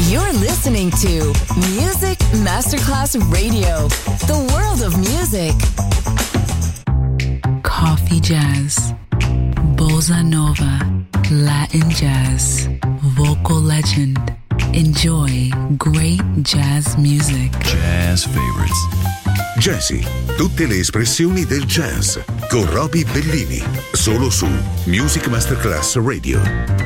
You're listening to Music Masterclass Radio, the world of music. Coffee jazz, bossa nova, Latin jazz, vocal legend. Enjoy great jazz music. Jazz favorites. Jazzy, tutte le espressioni del jazz con Roby Bellini, solo su Music Masterclass Radio.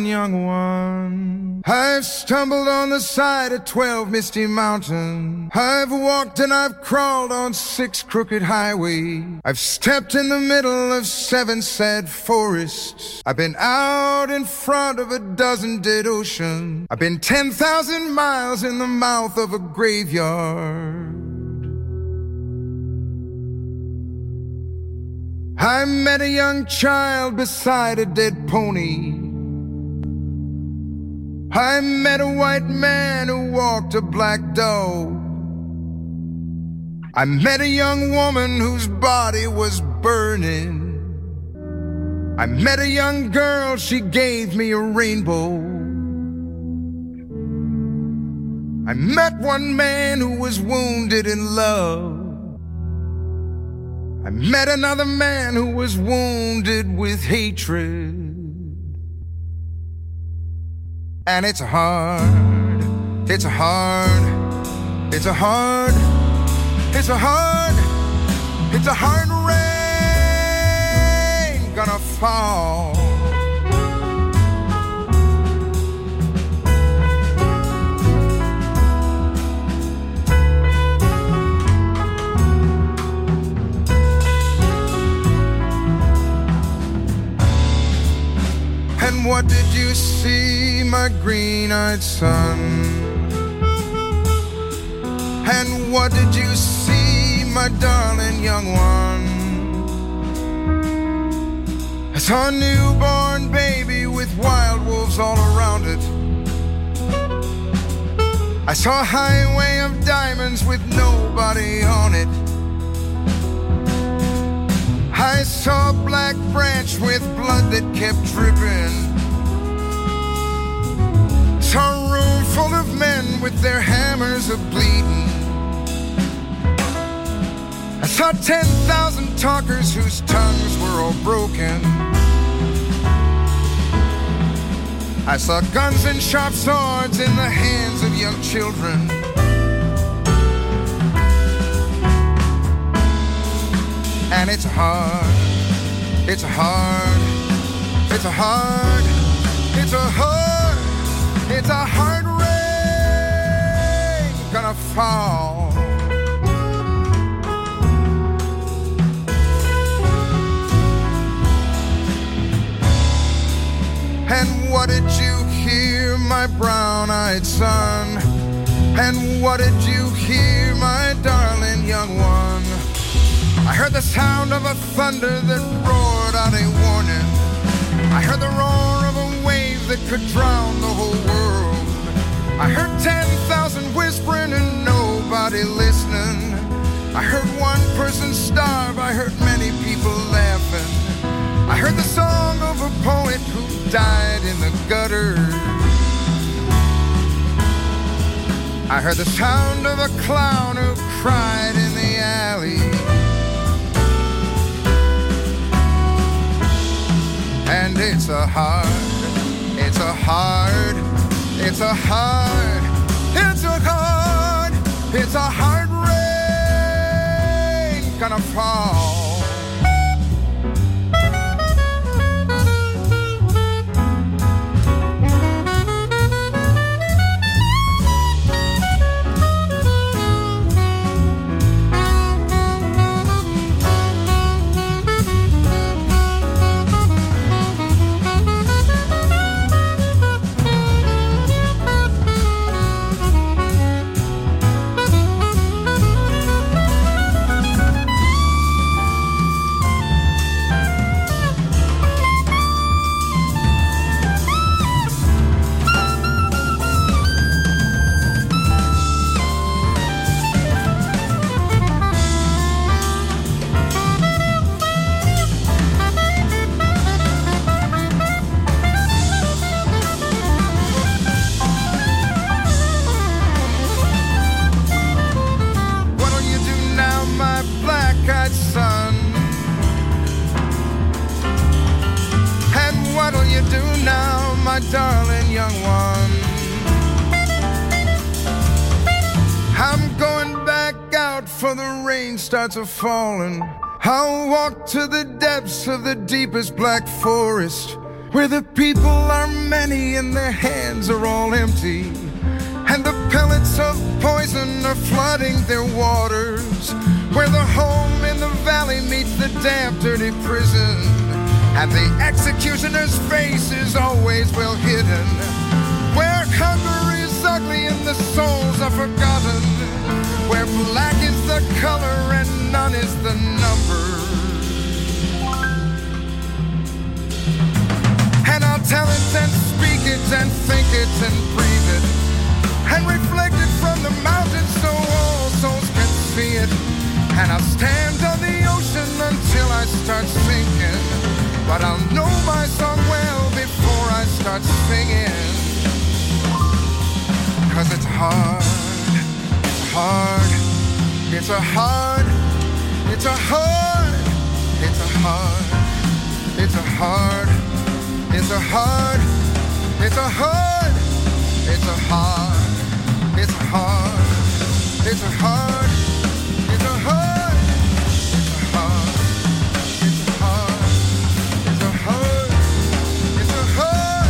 darling young one. I've stumbled on the side of 12 misty mountains. I've walked and I've crawled on 6 crooked highways. I've stepped in the middle of 7 sad forests. I've been out in front of a dozen dead oceans. I've been 10,000 miles in the mouth of a graveyard. I met a young child beside a dead pony. I met a white man who walked a black dog. I met a young woman whose body was burning. I met a young girl, she gave me a rainbow. I met one man who was wounded in love. I met another man who was wounded with hatred. And it's hard, it's hard, it's a hard, it's a hard, it's a hard rain gonna fall. And what did you see, my green-eyed son? And what did you see, my darling young one? I saw a newborn baby with wild wolves all around it. I saw a highway of diamonds with nobody on it. I saw a black branch with blood that kept dripping. Saw a room full of men with their hammers a-bleeding. I saw 10,000 talkers whose tongues were all broken. I saw guns and sharp swords in the hands of young children. And it's hard, it's hard, it's a hard, it's a hard, it's a hard rain gonna fall. And what did you hear, my brown-eyed son? And what did you hear, my darling young one? I heard the sound of a thunder that roared out a warning. I heard the roar of a wave that could drown the whole world. I heard 10,000 whispering and nobody listening. I heard one person starve, I heard many people laughing. I heard the song of a poet who died in the gutter. I heard the sound of a clown who cried in the alley. And it's a hard, it's a hard, it's a hard, it's a hard, it's a hard rain gonna fall. Darling young one, I'm going back out for the rain starts a-falling. I'll walk to the depths of the deepest black forest, where the people are many in their hands are all empty, and the pellets of poison are flooding their waters, where the home in the valley meets the damp, dirty prison, and the executioner's face is always well hidden, where hunger is ugly and the souls are forgotten, where black is the color and none is the number. And I'll tell it and speak it and think it and breathe it, and reflect it from the mountains so all souls can see it. And I'll stand on the ocean until I start sinking, but I'll know my song well before I start singing. 'Cause it's hard, it's hard, it's a hard, it's a hard, it's a hard, it's a hard, it's a hard, it's a hard, it's a hard, it's a hard, it's a hard, it's a hard, it's a hard, it's a hard, it's a hard, it's a hard,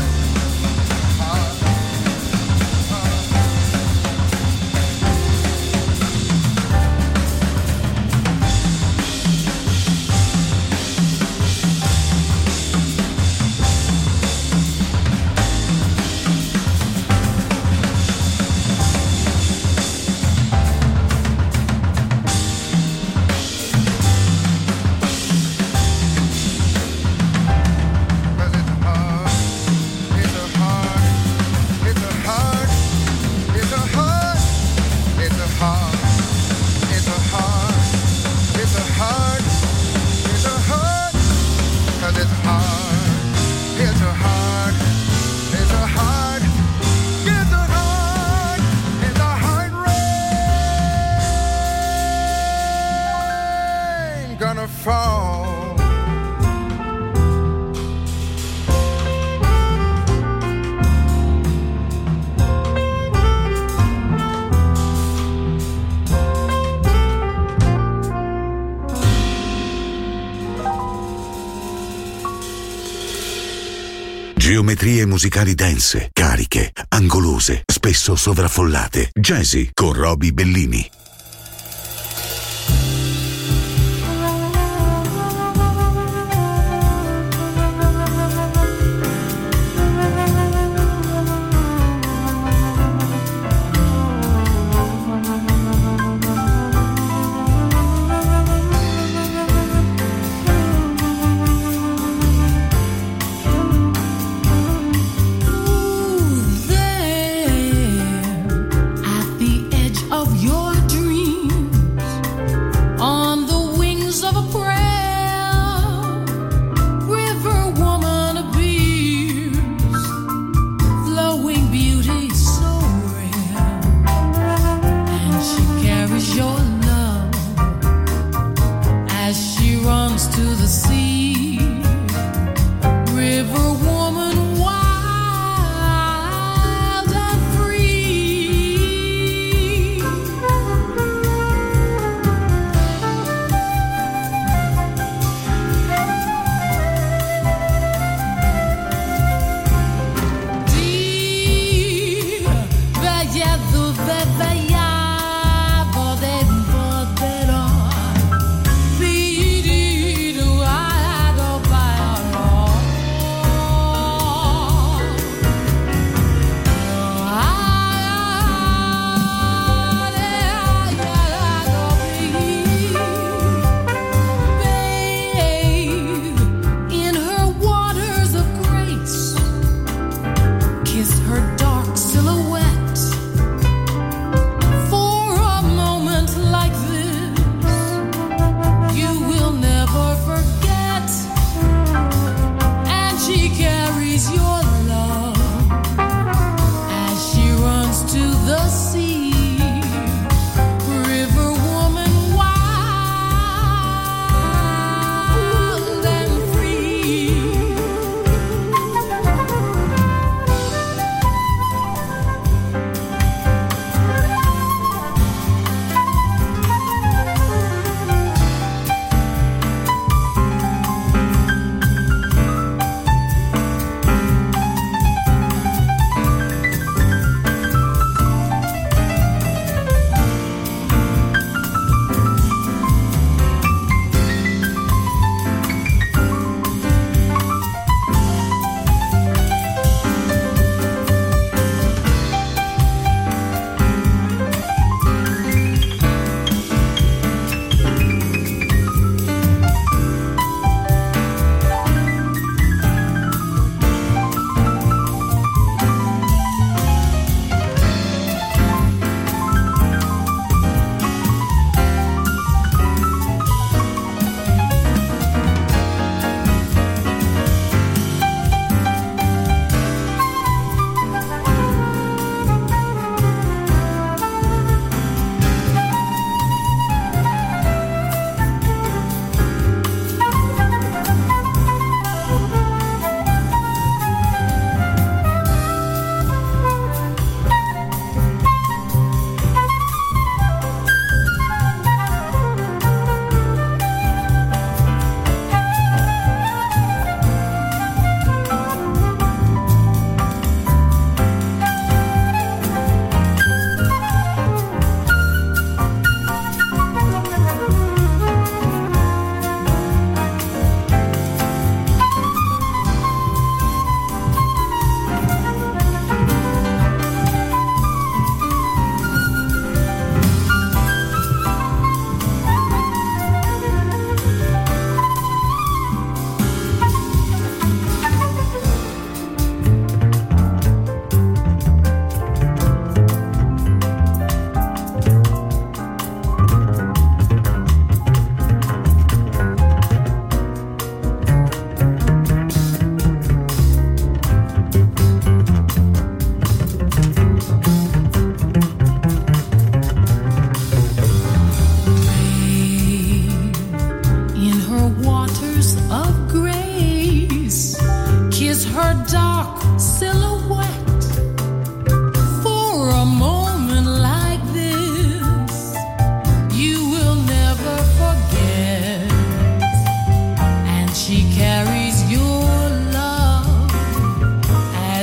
Geometrie musicali dense, cariche, angolose, spesso sovraffollate. Jazzy con Roby Bellini.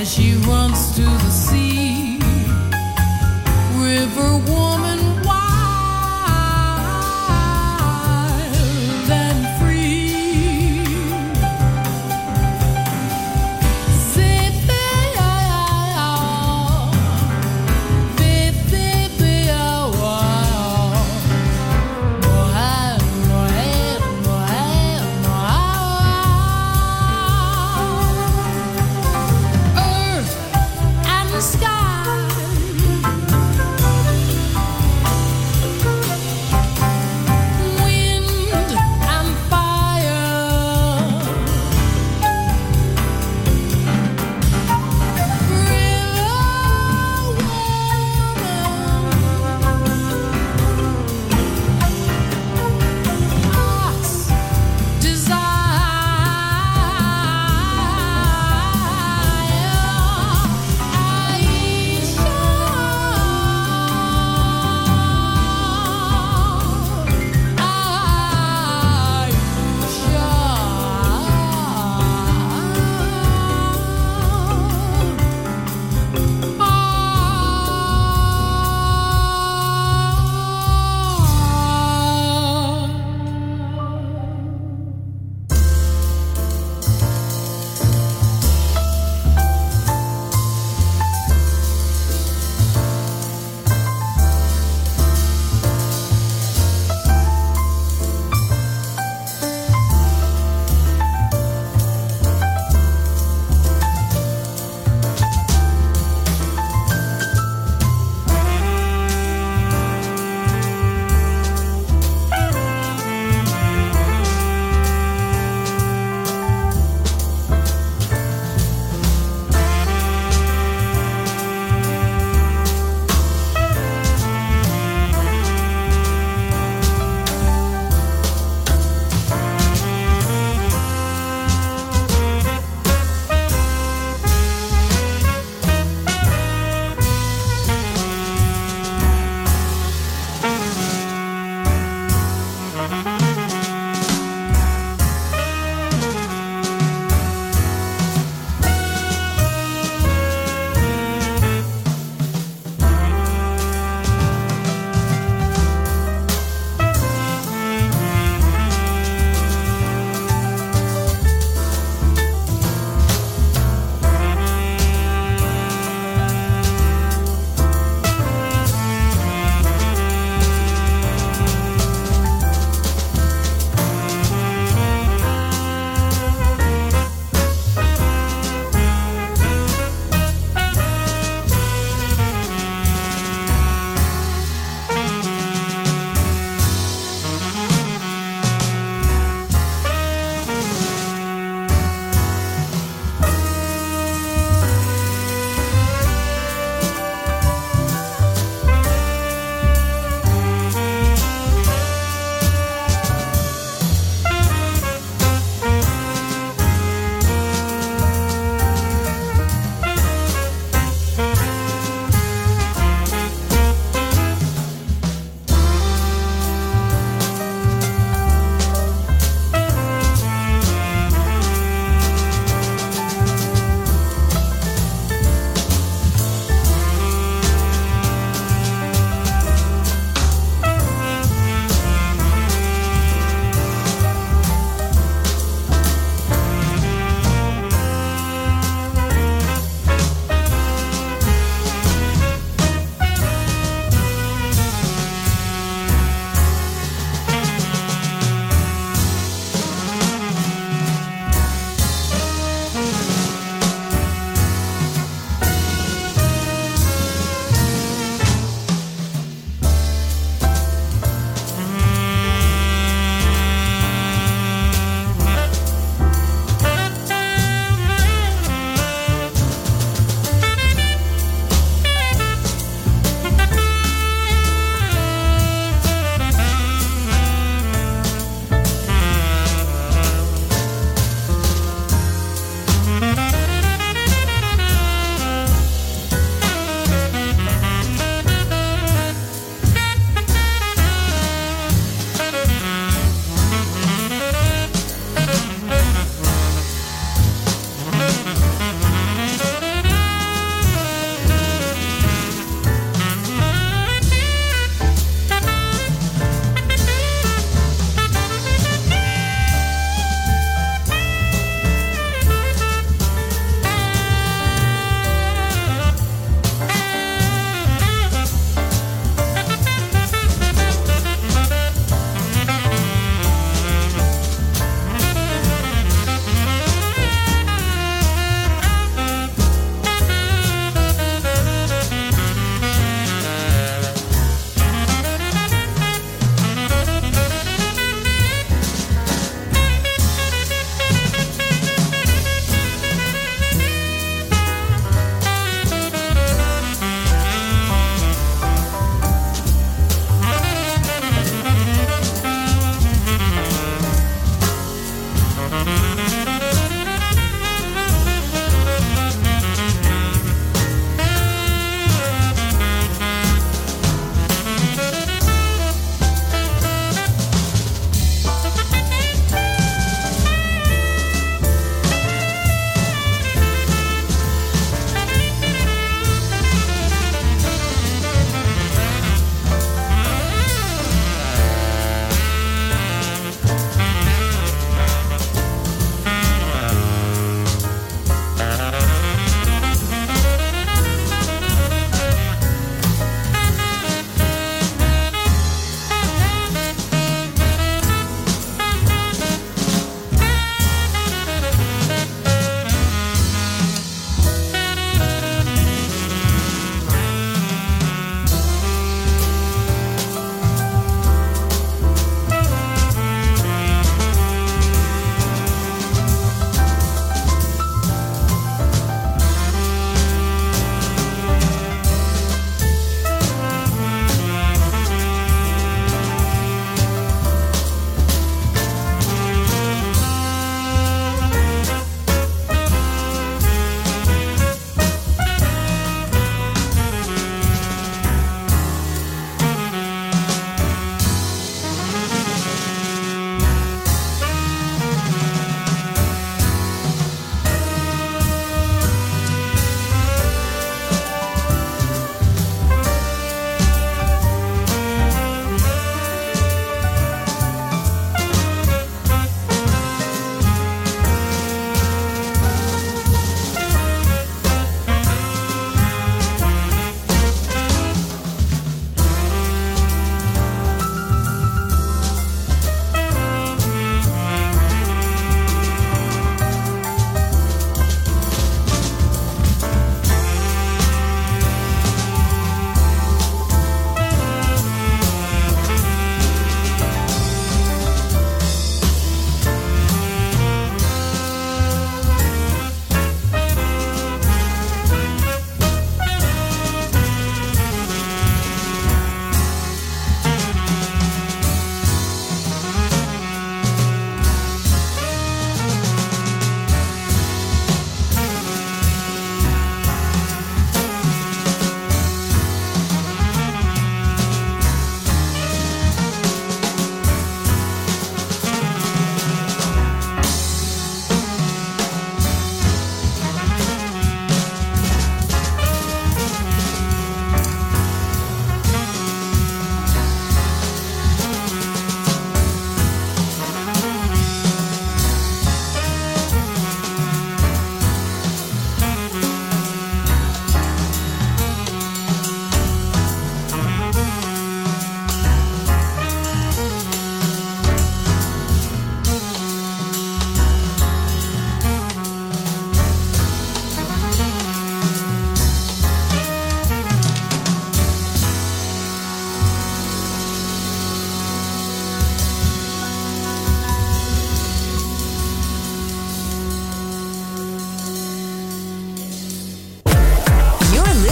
she runs to the sea. River woman, wild and free. Say, earth and the sky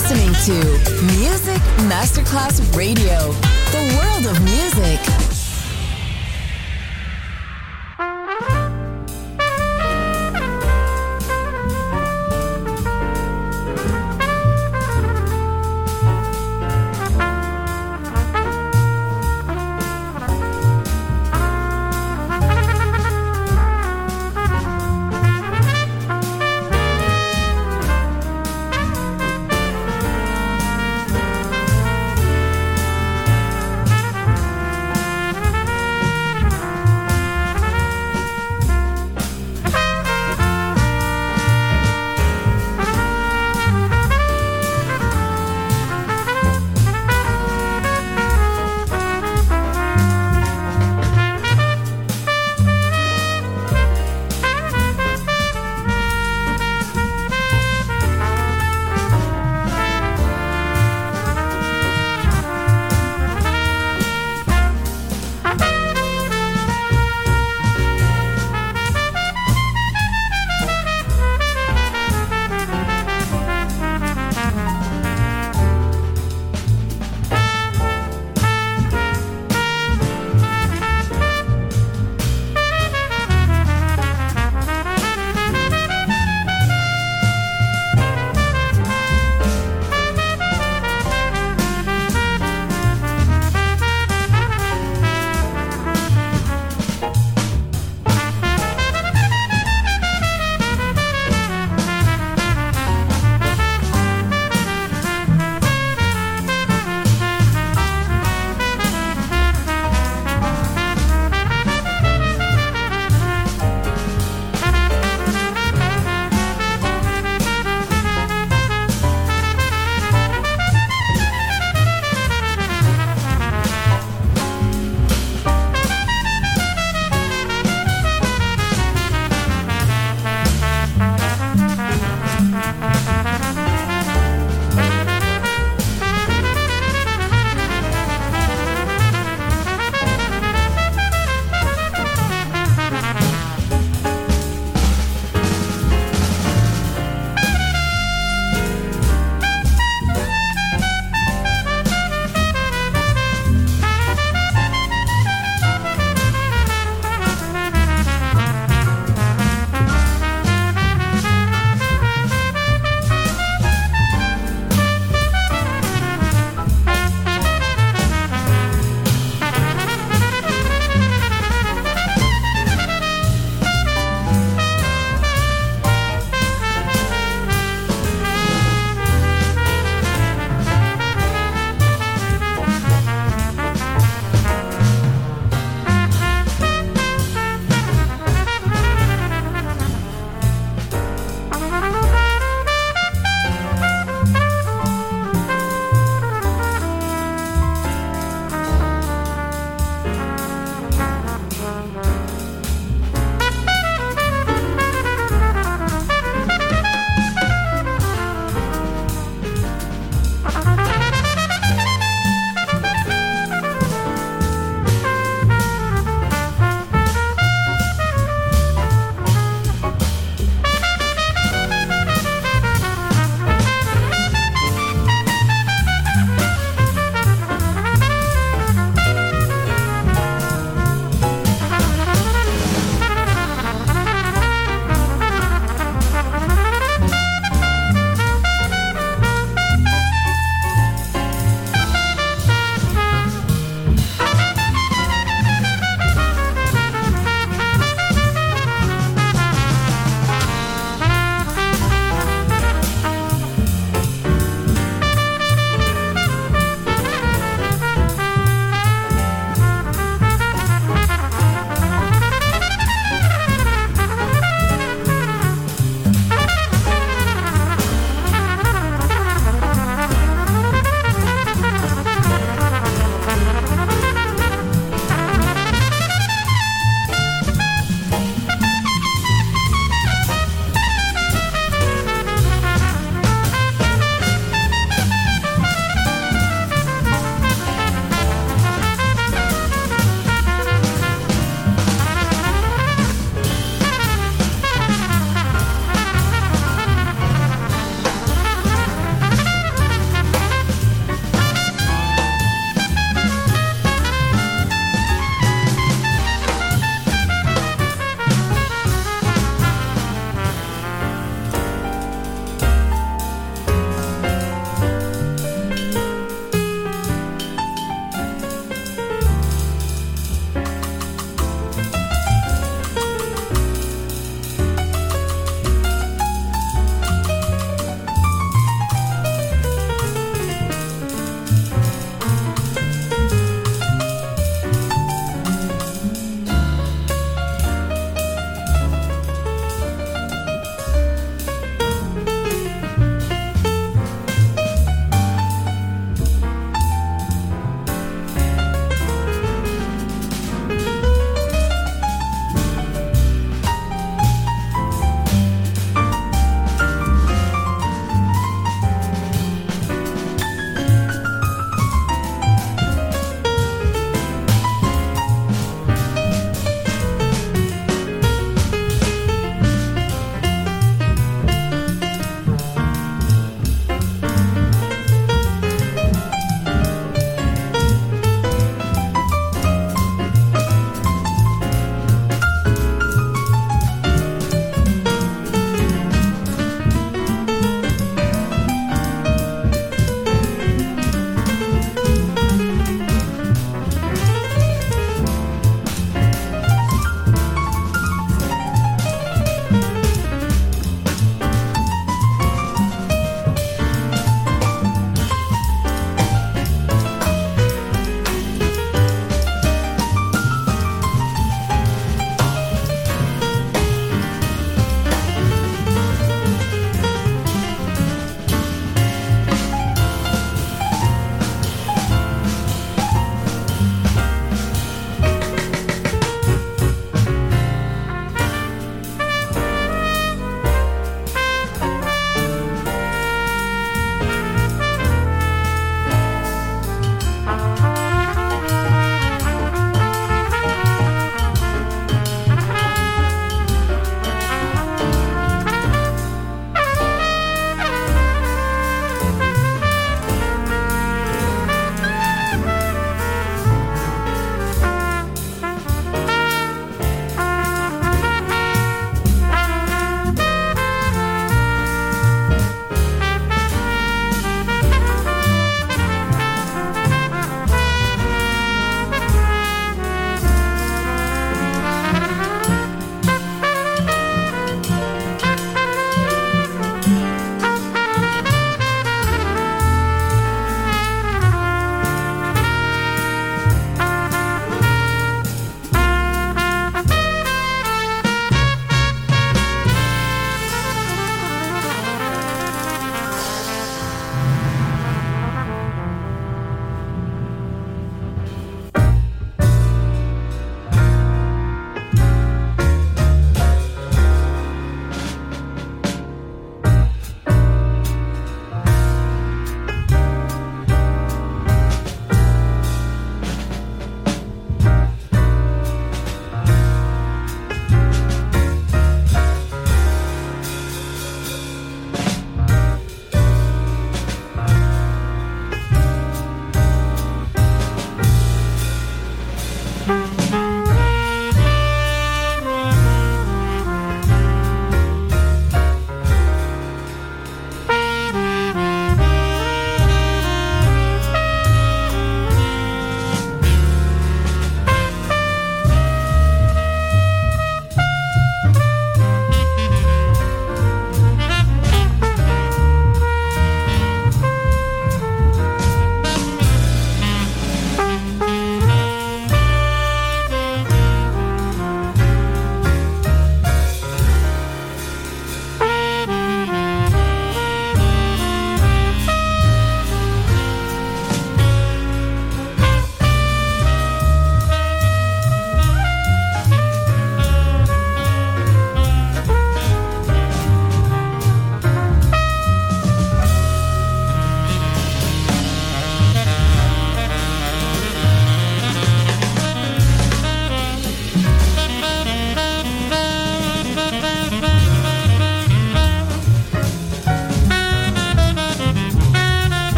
listening to Music Masterclass Radio, the world of music.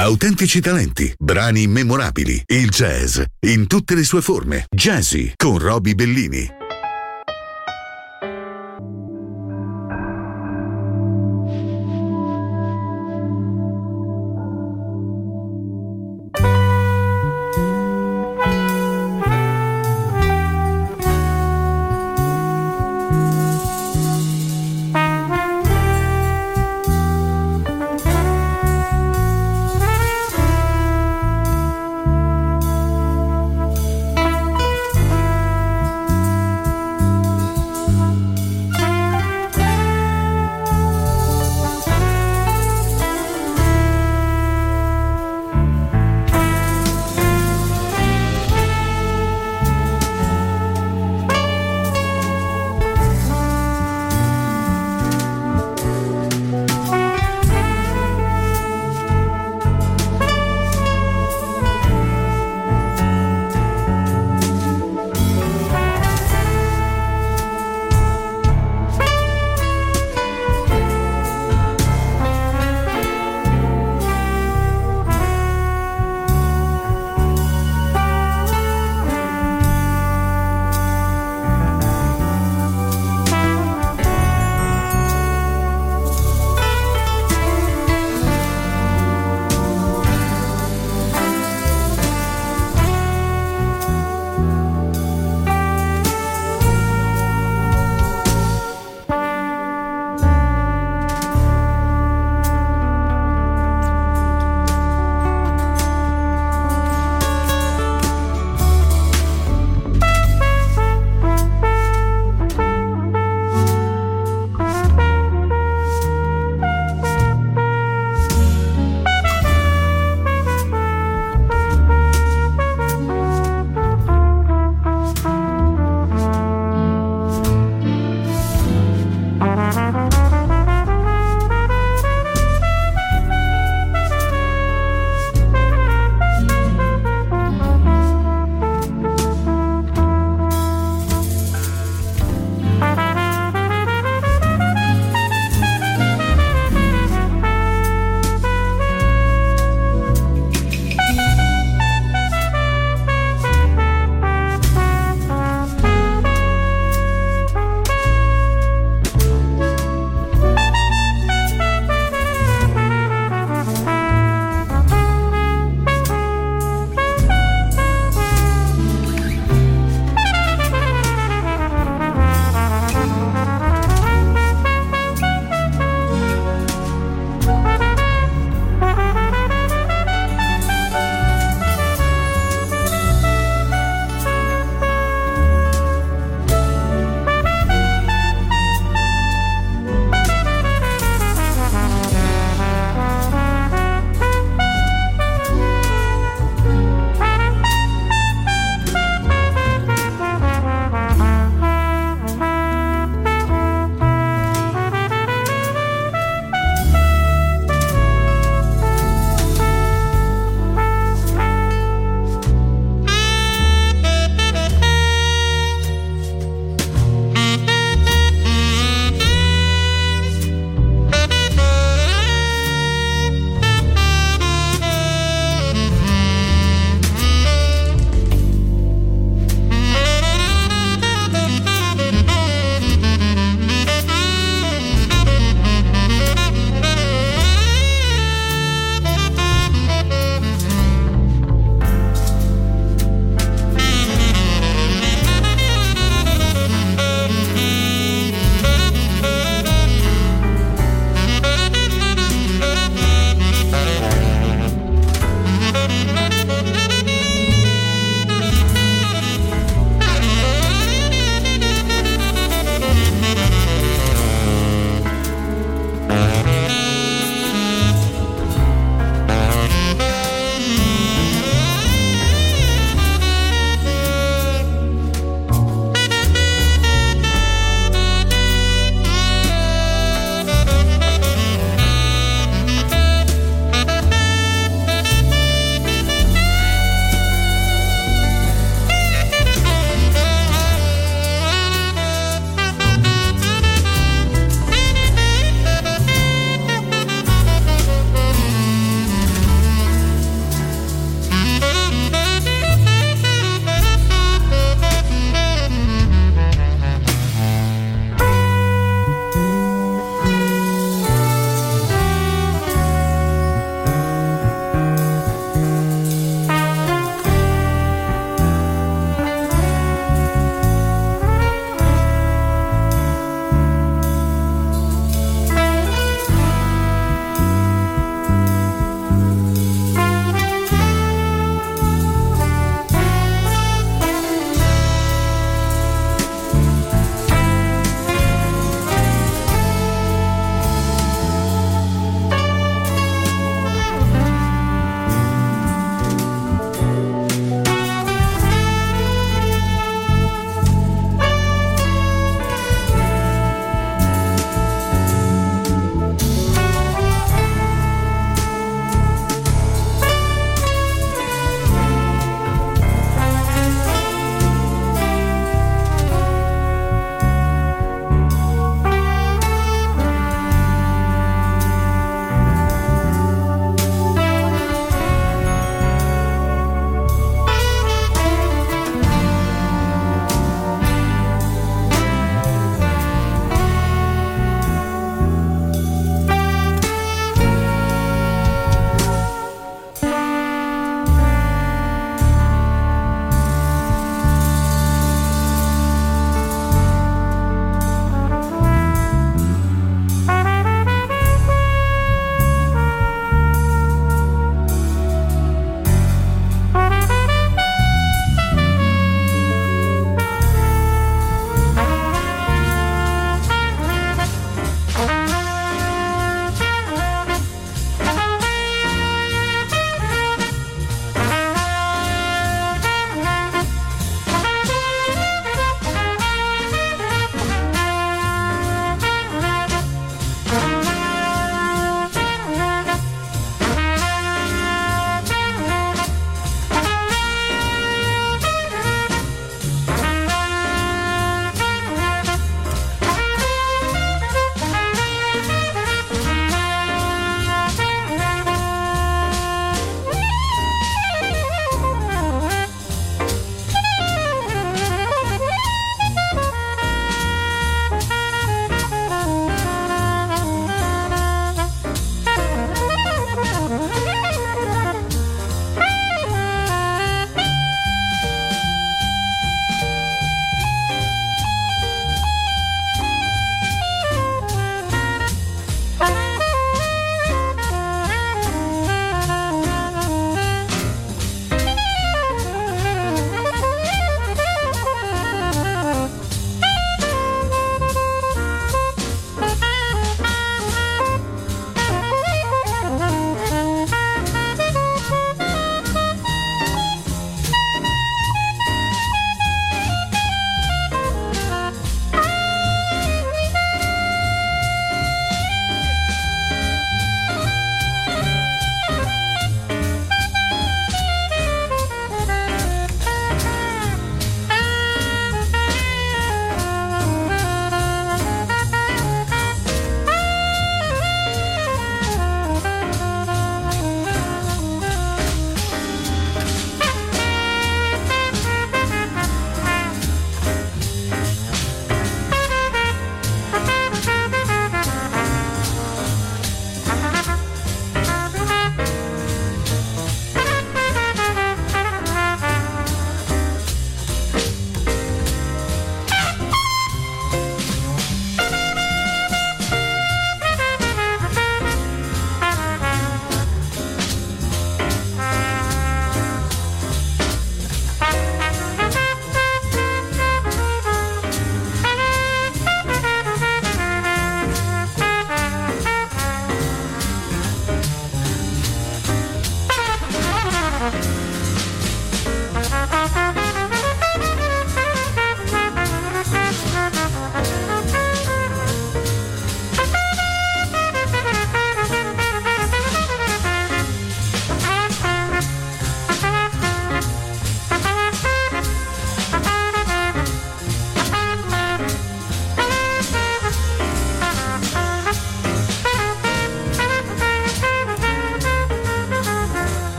Autentici talenti, brani memorabili, il jazz in tutte le sue forme. Jazzy con Roby Bellini.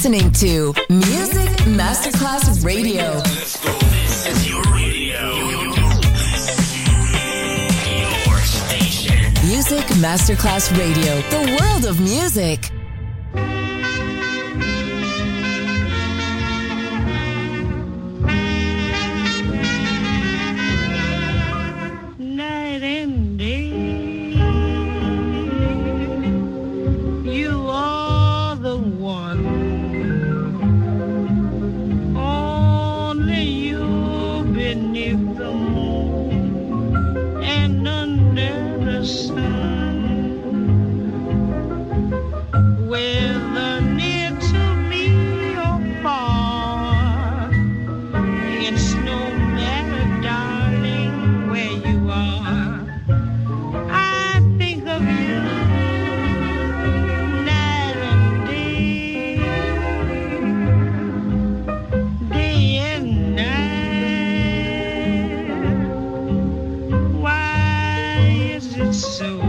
listening to Music Masterclass Radio. Let's go. This is your radio. Your station. Music Masterclass Radio. The world of music. Night and day, you are the one. Only you beneath the moon and under the sun. Whether near to me or far, it's no matter, darling, where you are. I think of you night and day, day and night. Why is it so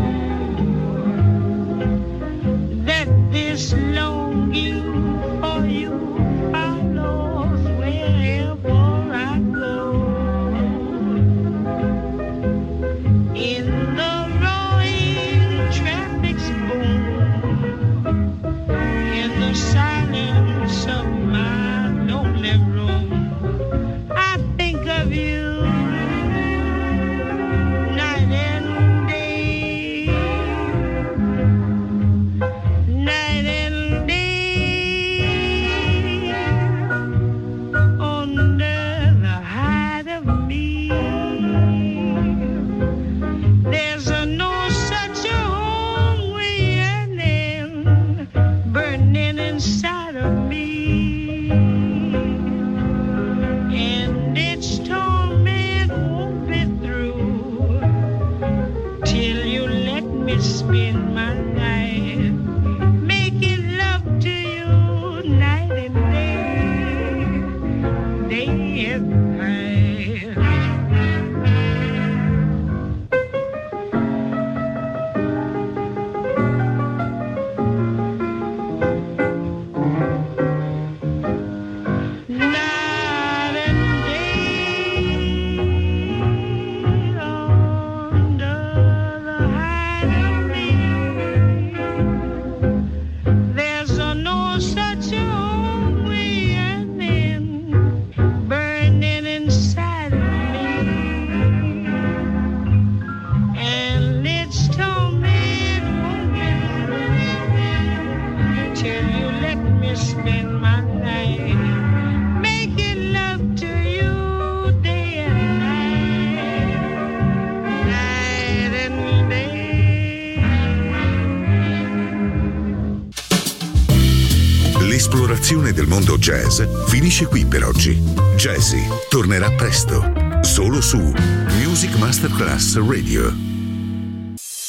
that this longing for you follows wherever I go? In the roaring traffic's boom, in the silence of my lonely room, I think of you night and day, night and day, under the hide of me. There's no such a hungry yearning burning inside of me, and its torment won't be through till you let me spend my life making love to you night and day, day and night. Night and day, under the hide of me. There's no such a hungry yearning burning inside of me, and its torment won't be through till you let me spend my life making love to you day and night, night and day. L'esplorazione del mondo jazz finisce qui per oggi. Jazzy tornerà presto, solo su Music Masterclass Radio.